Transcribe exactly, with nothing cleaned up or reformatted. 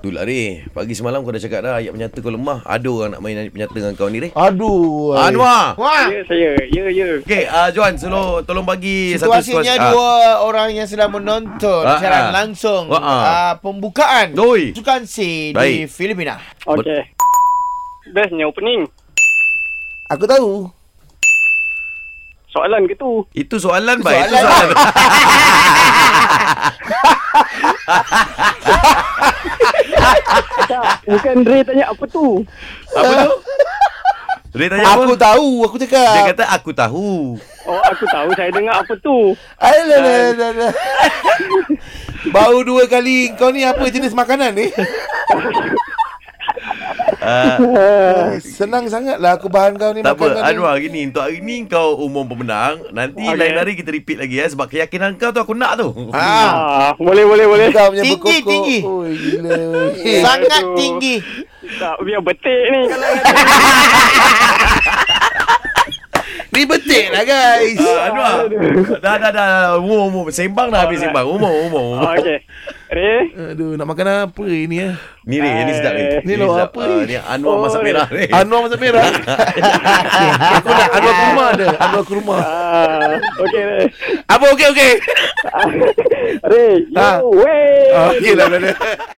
Itulah Ray, pagi semalam kau dah cakap dah ayat penyata kau lemah. Ada orang nak main ayat penyata dengan kau ni Ray. Aduh. Anwar. Wah. Ya, saya. Ya, ya. Okey, uh, Johan, selalu tolong bagi Situasinya satu dua orang yang sedang menonton Ah, siaran ah. langsung Ah, ah. uh, pembukaan Oi. Sukan C di Baik. Filipina. Okey. Bestnya opening. Aku tahu. Soalan ke tu? Itu soalan baik. Itu Soalan. soalan. Tak, bukan Ray tanya apa tu. Apa tu? Ray tanya apa? Aku tahu, aku cakap. Dia kata aku tahu. Oh, aku tahu. Saya dengar apa tu. Alah, alah, alah, alah. Baru dua kali. Kau ni apa jenis makanan ni? Uh, Senang sangat lah aku bahan kau ni tak makanan apa, ni. Anwar, gini. Untuk hari ni kau umum pemenang. Nanti Okey. lain hari kita repeat lagi ya. Sebab keyakinan kau tu aku nak tu. Ah, Ah, boleh, boleh, boleh. kau punya Tinggi, berkokok. tinggi. Oh, gila. Sangat Aduh. tinggi. Tak, biar betik ni kalau Ni betik lah guys. Uh, Anwar. Dah, dah, dah. Umum, umum. Sembang dah habis Alright. sembang. Umum, umum. Oh, okey. Ray. Aduh, nak makan apa ini ya? Ni Ray, ni sedap ni. Ni lo sedap. apa Ah, ni? ni Anwar Oh, masak ni. merah Ray. Anwar masak merah. Aku nak Anwar kurma ada. Anwar kurma. Ah, okey, Ray. Apa okey okey? Ray, Ah. you way. Okey lah. dah, dah.